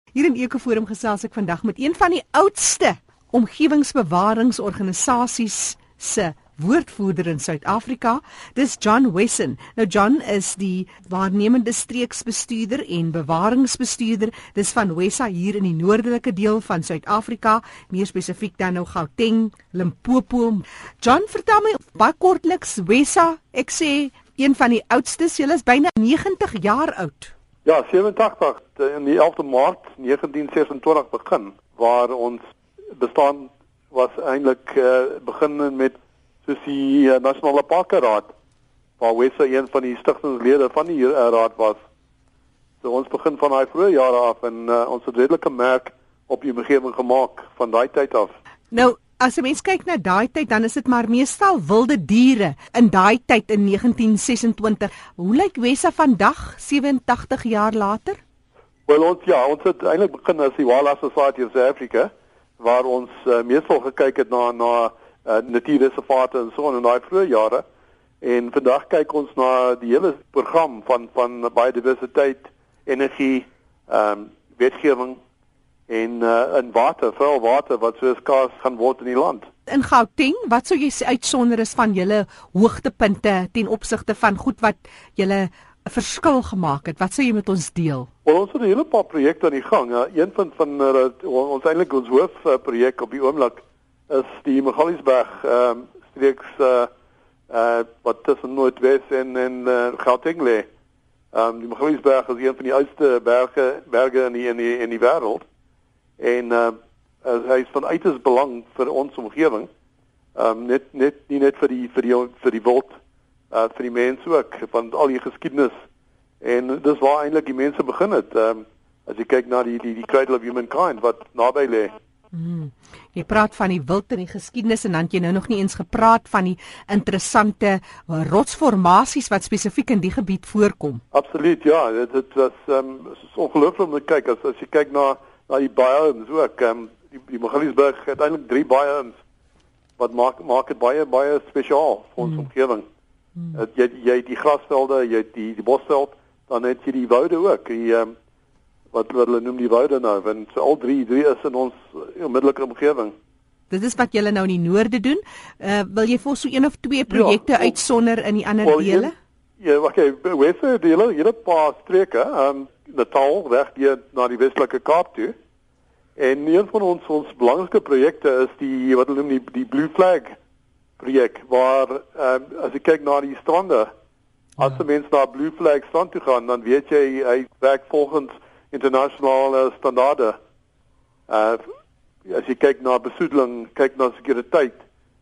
Hier in Ekoforum gesels ek vandag met een van die oudste omgewingsbewaringsorganisasies se woordvoerder in Suid-Afrika. Dis John Wesson. Nou John is die waarnemende streeksbestuurder en bewaringsbestuurder. Dis van WESA hier in die noordelike deel van Suid-Afrika, meer spesifiek dan nou Gauteng, Limpopo. John, vertel my baie kortliks WESA. Ek sê een van die oudstes, julle is byna 90 jaar oud. Ja, 87 in die 11de Maart 1926 begin, waar ons bestaan was eintlik begin met soos die Nasionale Parkeraad, waar WESA een van die stigtingslede van die raad was. So ons begin van daai vroeë jare af en ons het redelike merk op die omgewing gemaak van daai tyd af. Nou, as 'n mens kyk na daai tyd, dan is dit maar meestal wilde diere in daai tyd in 1926. Hoe lyk WESA vandag, 87 jaar later? Wel, ons het eintlik begin as die Wildlife Society of South Africa, waar ons meestal gekyk het na natuurreservate en so in daai vroeë jare. En vandag kyk ons na die hele program van biodiversiteit, energie, wetgewing en water, veral water wat so skaars gaan word in die land. In Gauteng, wat sou jy uitsonder is van julle hoogtepunte ten opsigte van goed wat julle 'n verskil gemaak het? Wat sou jy met ons deel? Wel, ons het 'n hele paar projekte aan die gang. Een van ons eintlik ons hoofprojek op die oomblik is die Magaliesberg streeks wat tussen Noordwes en Gauteng lê. Die Magaliesberg is een van die oudste berge in die wêreld. En hy is van uiters belang vir ons omgewing. Nie net vir die wild, vir die mense ook, van al die geskiedenis. En dis waar eintlik die mense begin het. As jy kyk na die cradle of humankind wat naby lê. Jy praat van die wild en die geskiedenis en dan het jy nou nog nie eens gepraat van die interessante rotsformasies wat spesifiek in die gebied voorkom. Absoluut, ja. Dit was ongelooflik om te kyk. As jy kyk na die biomes ook, die Magaliesberg het eintlik 3 biomes wat maak dit baie spesiaal vir ons omgewing. Jy het die grasvelde, jy het die bosveld, dan het jy die woude ook, wat hulle noem die woude nou, en so al drie is in ons onmiddellike omgewing. Dit is wat julle nou in die noorde doen. Wil jy vir so 1 of 2 projekte uitsonder in die ander dele? Ja, okay, WESA dele, hele paar streke, Natal weg na die Westelike Kaap toe. En een van ons belangrikste projekte is die wat hulle noem die Blue Flag projek, waar as jy kyk na die strande, as die mense na Blue Flag strand toe gaan, dan weet jy hy werk volgens internasionale standaarde. As jy kyk na besoedeling, kyk na sekuriteit,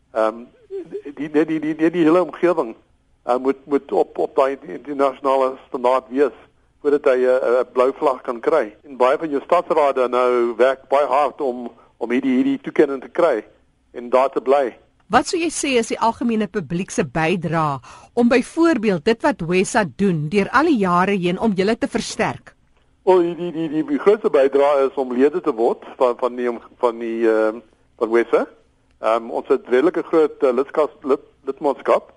die hele omgewing moet op daai internasionale standaard wees voordat hy 'n blou vlag kan kry. En baie van jou stadsrade nou werk baie hard om hierdie toekenning te kry en daar te bly. Wat sou jy sê is die algemene publiek se bydrae om byvoorbeeld dit wat WESA doen deur al die jare heen om julle te versterk? Wel, die grootste bydrae is om lede te word van WESA. Ons het redelike groot lidmaatskap.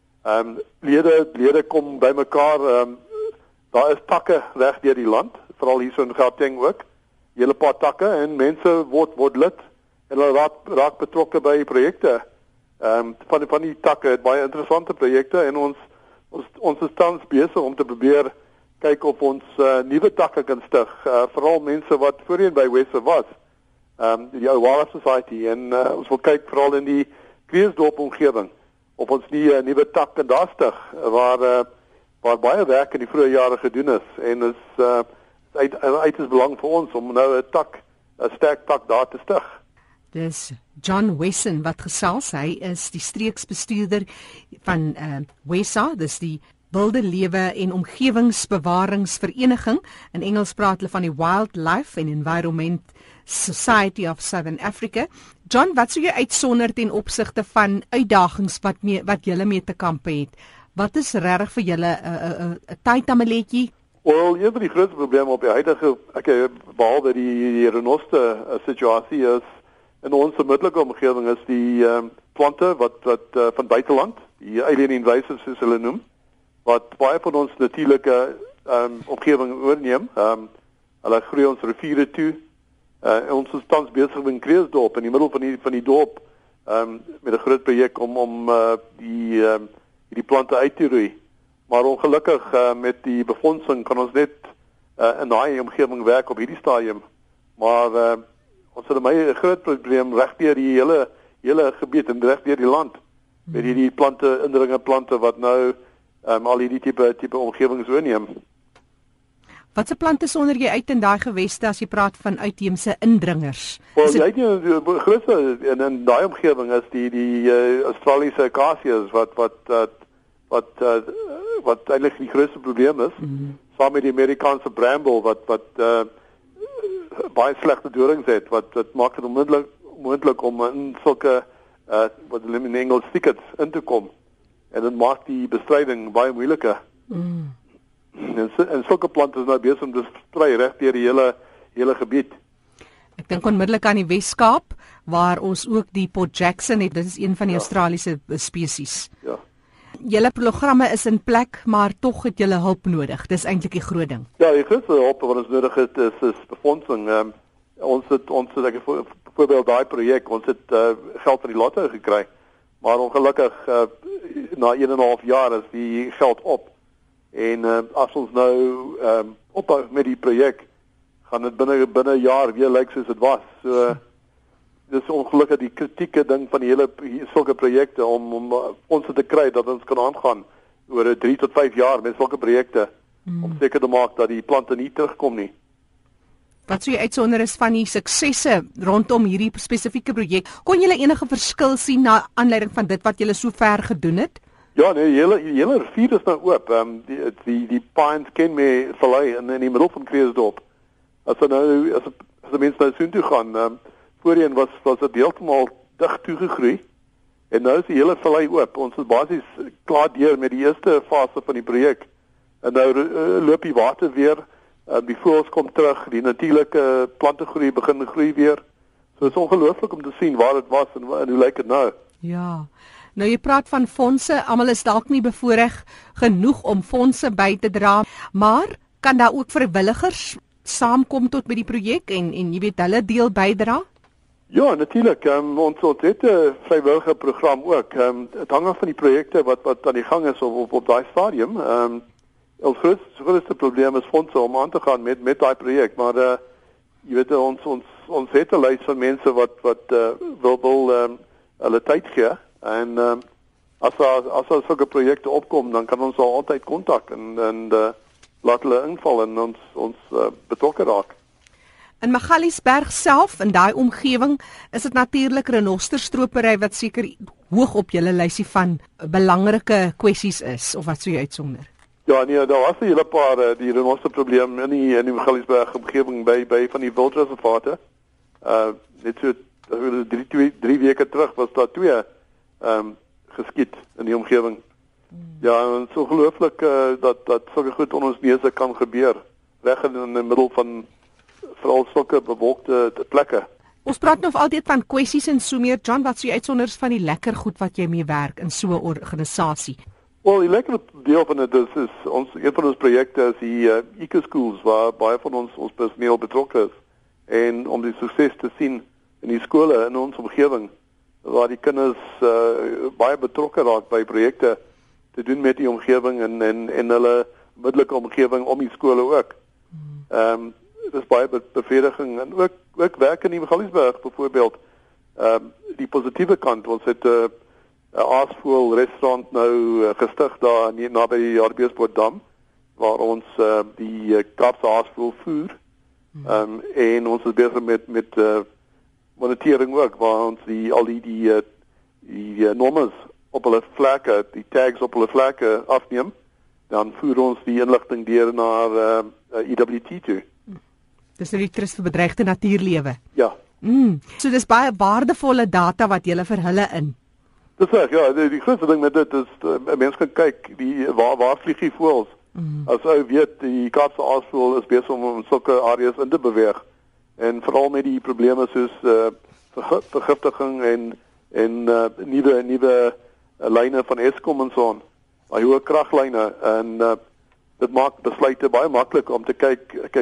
Lede kom bymekaar. Daar is takke reg deur die land, veral hier so in Gauteng ook. Hele paar takke en mense word lid en hulle raak betrokke by projekte. Van die takke het baie interessante projekte en ons is tans besig om te probeer kyk of ons nuwe takke kan stig, veral mense wat voorheen by WESA was, die ou Wildlife Society, en ons wil kyk veral in die Kreeusdorp omgewing of ons nie 'n nuwe tak kan daar stig waar baie werk in die vroeë jare gedoen is en is uiters belang vir ons om nou 'n sterk tak daar te stig. Dis John Wesson wat gesels. Hy is die streeksbestuurder van WESA, dis die Wilde Lewe en Omgewingsbewaringsvereniging. In Engels praat hulle van die Wildlife and Environment Society of Southern Africa. John, wat sou jy uitsonder ten opsigte van uitdagings wat julle mee te kampe het? Wat is regtig vir julle 'n tydtameletjie? Wel, een van die grootste probleme op die huidige, behalwe die renoster situasie is in ons onmiddellike omgewing is die plante wat van buiteland, die alien invasives soos hulle noem, wat baie van ons natuurlike omgewing oorneem. Hulle groei ons riviere toe. Ons is tans besig met Kreeusdorp in die middel van die dorp met 'n groot projek om die plante uit te roei. Maar ongelukkig met die befondsing kan ons net in daai omgewing werk op hierdie stadium. Maar ons het 'n groot probleem regdeur die hele gebied en regdeur die land met hierdie indringerplante wat nou al hierdie tipe omgewings oorneem. Watse plante sonder jy uit in daai geweste as jy praat van uitheemse indringers? Wel, die grootste in daai omgewing is die Australiese akasias wat eintlik die grootste probleem is. Saam met die Amerikaanse bramble wat baie slegte dorings het wat maak dit onmoontlik om in sulke wat hulle in Engels thickets in te kom. En dit maak die bestryding baie moeiliker. En sulke plante is nou besig om te sprei reg deur die hele gebied. Ek dink onmiddellik aan die Wes-Kaap waar ons ook die Port Jackson het. Dit is een van die Australiese spesies. Ja. Julle programme is in plek, maar tog het julle hulp nodig. Dis eintlik die groot ding. Ja, die grootste hulp wat ons nodig het is befondsing. Ons het byvoorbeeld daai projek, ons het geld van die lotto gekry. Maar ongelukkig na 1,5 jaar is die geld op. En as ons nou ophou met die projek, gaan dit binne 'n jaar weer lyk soos dit was. So dis ongelukkig die kritieke ding van die hele sulke projekte om ons te kry dat ons kan aangaan oor 3 tot 5 jaar met sulke projekte om seker te maak dat die plante nie terugkom nie. Wat sou jy uitsonder is van die suksesse rondom hierdie spesifieke projek? Kon julle enige verskil sien na aanleiding van dit wat julle so ver gedoen het? Ja, nee, die hele rivier is nou oop. Die Pines Kenmare Vallei in die middel van Kreeusdorp. As die mense nou soontoe gaan, voorheen was dit heeltemal dig toegegroei. En nou is die hele vallei oop. Ons is basies klaar deur met die eerste fase van die projek. En nou loop die water weer, die voëls kom terug, die natuurlike plante begin groei weer. So dit is ongelooflik om te sien waar dit was en hoe lyk dit nou. Ja. Nou jy praat van fondse, almal is dalk nie bevoorreg genoeg om fondse by te dra, maar kan daar ook vrywilligers saamkom tot by die projek en jy weet hulle deel bydra? Ja, natuurlik. Ons het 'n vrywillige program ook. Dit hang af van die projekte wat aan die gang is op daai stadium. Ons grootste probleem is fondse om aan te gaan met daai projek, maar jy weet ons het 'n lys van mense wat wil hulle tyd gee. En as daar sulke projekte opkom, dan kan ons al altyd kontak en laat hulle inval en ons betrokke raak. In Magaliesberg self, in daai omgewing, is dit natuurlik renosterstropery wat seker hoog op julle lysie van belangrike kwessies is, of wat sou jy uitsonder? Ja, nee, daar was 'n hele paar die renosterprobleem in die Magaliesberg omgewing by van die wildreservate. Net so 3 weke terug was daar 2 geskiet in die omgewing. Ja, en so ongelooflik dat sulke goed onder ons neuse kan gebeur, reg in die middel van veral sulke bewolkte plekke. Ons praat nou altyd van kwessies en so meer. John, wat sou jy uitsonders van die lekker goed wat jy mee werk in so 'n organisasie? Wel, die lekker deel van dit is een van ons projekte is die eco-schools waar baie van ons personeel betrokke is. En om die sukses te sien in die skole in ons omgewing, waar die kinders baie betrokke raak by projekte te doen met die omgewing en hulle onmiddellike omgewing om die skole ook. Dit is baie bevrediging en ook werk in die Magaliesberg byvoorbeeld. Die positiewe kant, ons het 'n aasvoël restaurant nou gestig daar naby die Hartbeespoortdam waar ons die Kaapse aasvoël voer. En ons is besig met monitering ook waar ons al die normes op hulle vlekke, die tags op hulle vlekke afneem. Dan voer ons die inligting deur na EWT toe. Dis die Trust vir Bedreigde Natuurlewe. Ja. So dis baie waardevolle data wat jy vir hulle in. Dis reg, ja, die grootste ding met dit is 'n mens kan kyk waar vlieg die voëls. As ou weet die Kaapse aasvoël is besig om sulke areas in te beweeg en veral met die probleme soos vergiftiging en nuwe lyne van Eskom en so aan. Baie hoë kraglyne en dit maak besluite baie maklik om te kyk hoe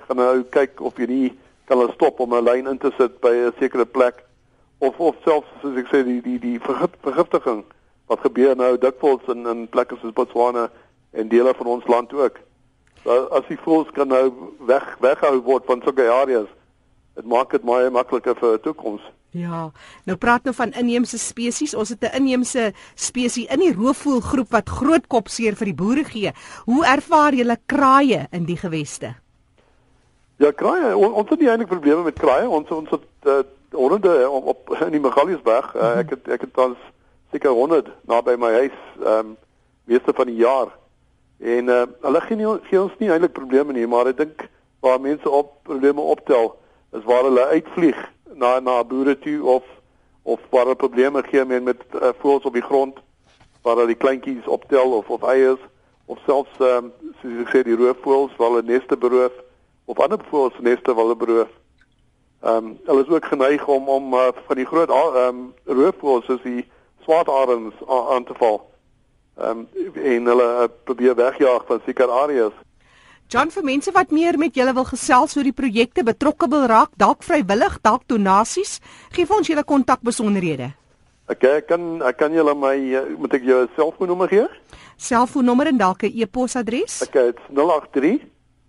gaan nou kyk of jy nie kan hulle stop om 'n lyn in te sit by 'n sekere plek of selfs soos ek sê die vergiftiging wat gebeur nou dikwels in plekke soos Botswana en dele van ons land ook. So, as die voëls kan nou weghou word van sulke areas, dit maak dit baie makliker vir 'n toekoms. Ja, nou praat nou van inheemse spesies. Ons het 'n inheemse spesies in die roofvoëlgroep wat groot kopseer vir die boere gee. Hoe ervaar julle kraaie in die geweste? Ja, kraaie, ons het nie eintlik probleme met kraaie. Ons het honderde op in die Magaliesberg. Ek het al seker 100 naby my huis meeste van die jaar. En hulle gee ons nie eintlik probleme nie, maar ek dink waar mense probleme optel is waar hulle uitvlieg na boere toe of waar hulle probleme gee met voëls op die grond waar hulle die kleintjies optel of eiers of selfs soos ek sê die roofvoëls waar hulle neste beroof of ander voëls neste waar hulle beroof. Hulle is ook geneig om van die groot roofvoëls soos die swartarends aan te val. En hulle probeer wegjaag van sekere areas. John, vir mense wat meer met julle wil gesels oor die projekte, betrokke wil raak, dalk vrywillig, dalk donasies, gee vir ons julle kontakbesonderhede. Ek kan julle moet ek jou selfoonnommer gee? Selfoonnommer en dalk 'n e-posadres? Okay, dit's 083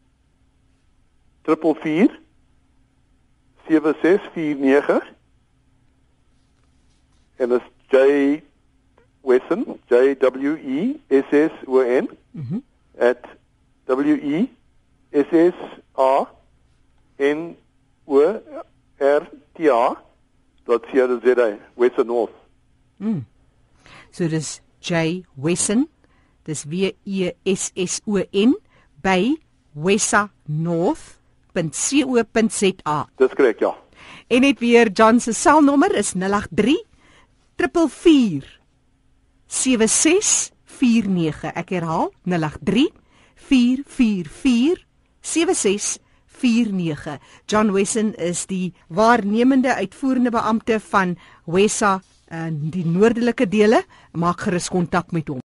444 7649 en dit is J Wesson, JWESSON at WESSONORTA.co.za, Wesson North. So dis J Wesson, dis WESSON by wessanorth.co.za. Dis korrek, ja. En net weer John se selnommer is 083 444 7649. Ek herhaal 083 444 7649. John Wesson is die waarnemende uitvoerende beampte van Wessa in die noordelike dele. Maak gerus kontak met hom.